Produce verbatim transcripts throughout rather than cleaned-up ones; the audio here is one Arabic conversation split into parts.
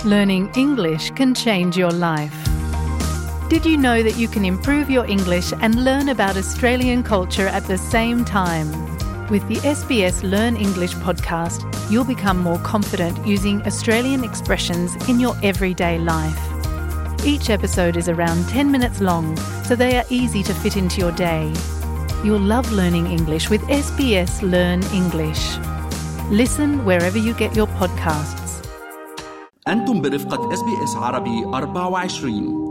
Learning English can change your life. Did you know that you can improve your English and learn about Australian culture at the same time? With the S B S Learn English podcast, you'll become more confident using Australian expressions in your everyday life. Each episode is around ten minutes long, so they are easy to fit into your day. You'll love learning English with S B S Learn English. Listen wherever you get your podcasts. أنتم برفقة إس بي إس عربي أربعة وعشرين.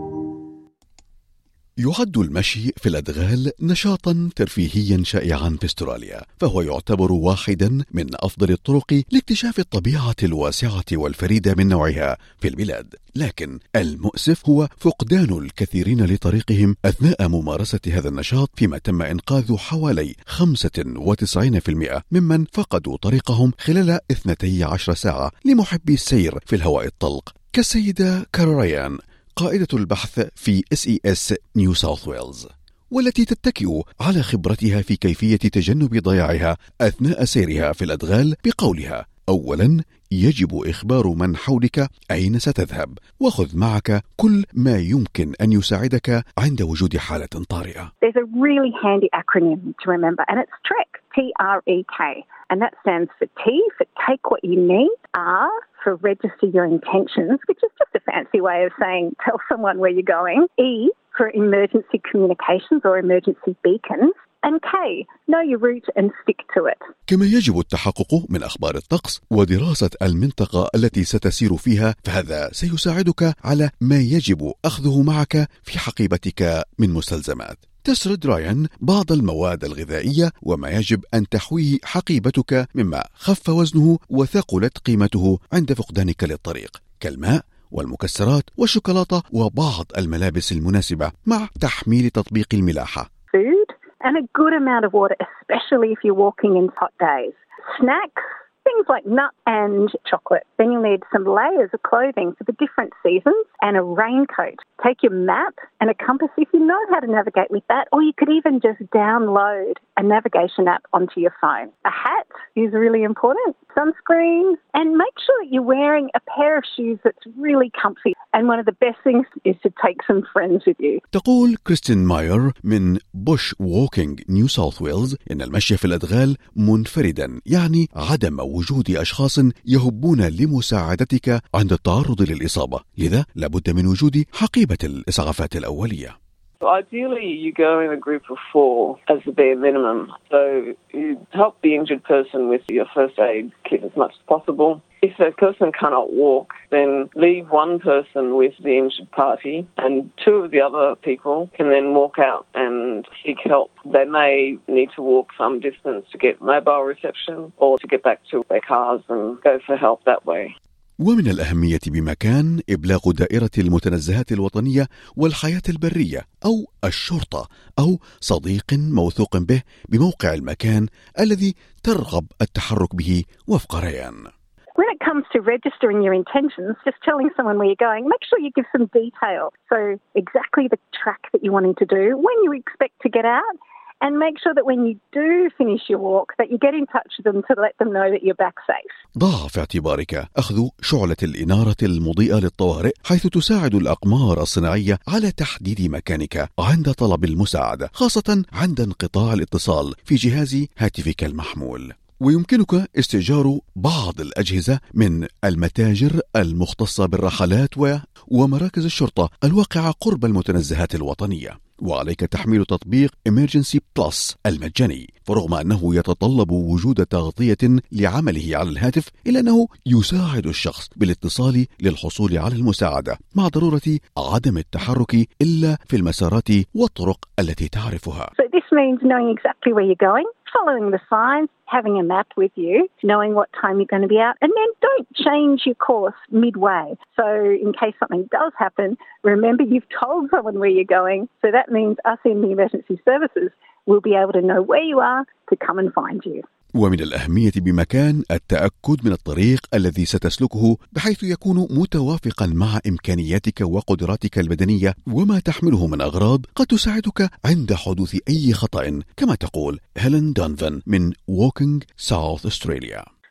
يعد المشي في الأدغال نشاطا ترفيهيا شائعا في استراليا، فهو يعتبر واحدا من أفضل الطرق لاكتشاف الطبيعة الواسعة والفريدة من نوعها في البلاد. لكن المؤسف هو فقدان الكثيرين لطريقهم أثناء ممارسة هذا النشاط، فيما تم إنقاذ حوالي خمسة وتسعين بالمئة ممن فقدوا طريقهم خلال اثنتي عشر ساعة لمحبي السير في الهواء الطلق، كالسيدة كاروريان قائدة البحث في إس إي إس نيو ساوث ويلز، والتي تتكئ على خبرتها في كيفية تجنب ضياعها أثناء سيرها في الأدغال بقولها: أولا، يجب إخبار من حولك أين ستذهب، وخذ معك كل ما يمكن أن يساعدك عند وجود حالة طارئة. There's a really handy acronym to remember, and it's TREK, T R E K, and that stands for T for take what you need, R for register your intentions, which is just a fancy way of saying tell someone where you're going, E for emergency communications or emergency beacons, and K, know your route and stick to it. كما يجب التحقق من أخبار الطقس ودراسة المنطقة التي ستسير فيها، فهذا سيساعدك على ما يجب أخذه معك في حقيبتك من مستلزمات. تسرد رايان بعض المواد الغذائية وما يجب أن تحويه حقيبتك مما خف وزنه وثقلت قيمته عند فقدانك للطريق، كالماء والمكسرات والشوكولاتة وبعض الملابس المناسبة، مع تحميل تطبيق الملاحة. Food and a good amount of water, especially if you're walking in hot days. Snacks, things like nut and chocolate. Then you'll need some layers of clothing for the different seasons and a raincoat. Take your map and a compass if you know how to navigate with that, or you could even just download a navigation app onto your phone. A hat is really important, sunscreen, and make sure that you're wearing a pair of shoes that's really comfy. And one of the best things is to take some friends with you. تقول كريستين ماير من بوش ووكينج نيو ساوث ويلز إن المشي في الأدغال منفردا يعني عدم وجود أشخاص يهبون لمساعدتك عند التعرض للإصابة، لذا لابد من وجود حقيبة الإسعافات الأولية. Ideally, you go in a group of four as the bare minimum. So you help the injured person with your first aid kit as much as possible. If a person cannot walk, then leave one person with the injured party and two of the other people can then walk out and seek help. They may need to walk some distance to get mobile reception or to get back to their cars and go for help that way. ومن الأهمية بمكان إبلاغ دائرة المتنزهات الوطنية والحياة البرية أو الشرطة أو صديق موثوق به بموقع المكان الذي ترغب التحرك به وفق ريان. When it comes to registering your intentions, just telling someone where you're going, make sure you give some detail. So exactly the track that you're wanting to do, when you expect to get out, and make sure that when you do finish your walk that you get in touch with them to let them know that you're back safe. ضع في اعتبارك أخذ شعلة الإنارة المضيئة للطوارئ، حيث تساعد الأقمار الصناعية على تحديد مكانك عند طلب المساعدة، خاصة عند انقطاع الاتصال في جهاز هاتفك المحمول. ويمكنك استئجار بعض الأجهزة من المتاجر المختصة بالرحلات ومراكز الشرطة الواقعة قرب المتنزهات الوطنية. وعليك تحميل تطبيق Emergency Plus المجاني، فرغم أنه يتطلب وجود تغطية لعمله على الهاتف، إلا أنه يساعد الشخص بالاتصال للحصول على المساعدة، مع ضرورة عدم التحرك إلا في المسارات والطرق التي تعرفها. So this means knowing exactly where you're going, following the signs, having a map with you, knowing what time you're going to be out, and then don't change your course midway. So in case something does happen, remember you've told someone where you're going, so that means us in the emergency services will be able to know where you are to come and find you. ومن الأهمية بمكان التأكد من الطريق الذي ستسلكه بحيث يكون متوافقا مع إمكانياتك وقدراتك البدنية وما تحمله من أغراض قد تساعدك عند حدوث أي خطأ، كما تقول هيلين دونفن من Walking South Australia.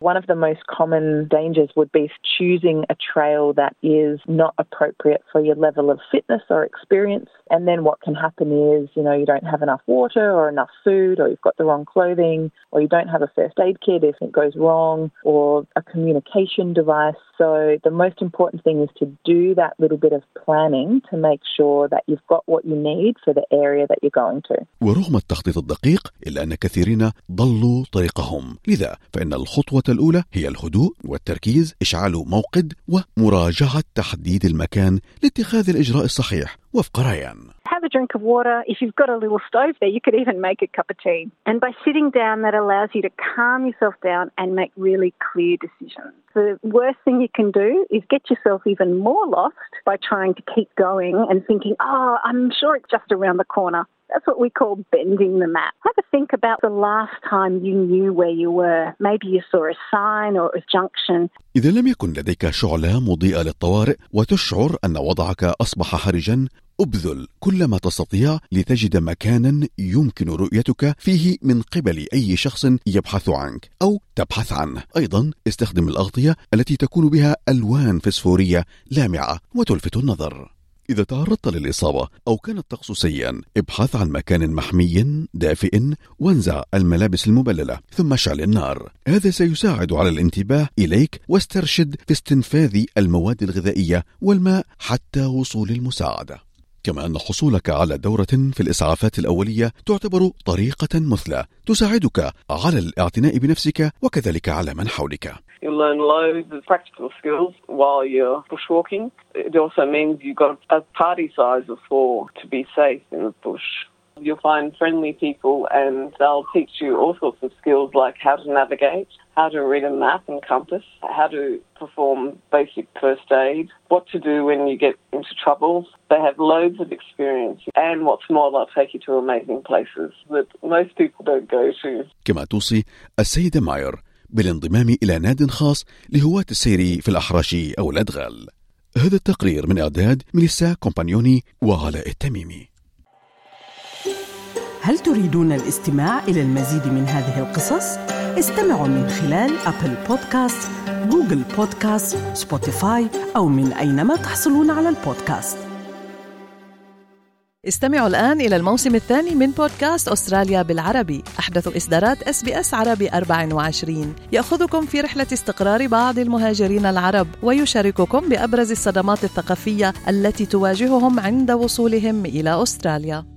One of the most common dangers would be choosing a trail that is not appropriate for your level of fitness or experience. And then what can happen is, you know, you don't have enough water or enough food, or you've got the wrong clothing, or you don't have a first aid kit if it goes wrong, or a communication device. So the most important thing is to do that little bit of planning to make sure that you've got what you need for the area that you're going to. ورغم التخطيط الدقيق إلا أن كثيرين ضلوا طريقهم، لذا فإن الخطوة الأولى هي الهدوء والتركيز، إشعال موقد، ومراجعة تحديد المكان لاتخاذ الإجراء الصحيح وفق ريان. Have a drink of water. If you've got a little stove there, you could even make a cup of tea. And by sitting down, that allows you to calm yourself down and make really clear decisions. The worst thing you can do is get yourself even more lost by trying to keep going and thinking, oh, I'm sure it's just around the corner. That's what we call bending the map. Have a think about the last time you knew where you were. Maybe you saw a sign or a junction. إذا لم يكن لديك شعلة مضيئة للطوارئ وتشعر أن وضعك أصبح حرجا، أبذل كل ما تستطيع لتجد مكانا يمكن رؤيتك فيه من قبل أي شخص يبحث عنك أو تبحث عنه. أيضا استخدم الأغطية التي تكون بها ألوان فسفورية لامعة وتلفت النظر. إذا تعرضت للإصابة أو كان الطقس سيئا، ابحث عن مكان محمي دافئ وانزع الملابس المبللة ثم اشعل النار. هذا سيساعد على الانتباه إليك، واسترشد في استنفاذ المواد الغذائية والماء حتى وصول المساعدة. كما أن حصولك على دورة في الإسعافات الأولية تعتبر طريقة مثلى تساعدك على الاعتناء بنفسك وكذلك على من حولك. You learn loads of practical skills while you're bushwalking. It also means you've got a party size of four to be safe in the bush. You'll find friendly people and they'll teach you all sorts of skills like how to navigate, how to read a map and compass, how to perform basic first aid, what to do when you get into trouble. They have loads of experience, and what's more, they'll take you to amazing places that most people don't go to. كما توصي السيدة ماير بالانضمام إلى ناد خاص لهواة السير في الأحراش أو الأدغال. هذا التقرير من إعداد ميليسا كومبانيوني وعلاء التميمي. هل تريدون الاستماع إلى المزيد من هذه القصص؟ استمعوا من خلال أبل بودكاست، جوجل بودكاست، سبوتيفاي أو من أينما تحصلون على البودكاست. استمعوا الآن إلى الموسم الثاني من بودكاست أستراليا بالعربي، أحدث إصدارات إس بي إس عربي أربعة وعشرين، يأخذكم في رحلة استقرار بعض المهاجرين العرب ويشارككم بأبرز الصدمات الثقافية التي تواجههم عند وصولهم إلى أستراليا.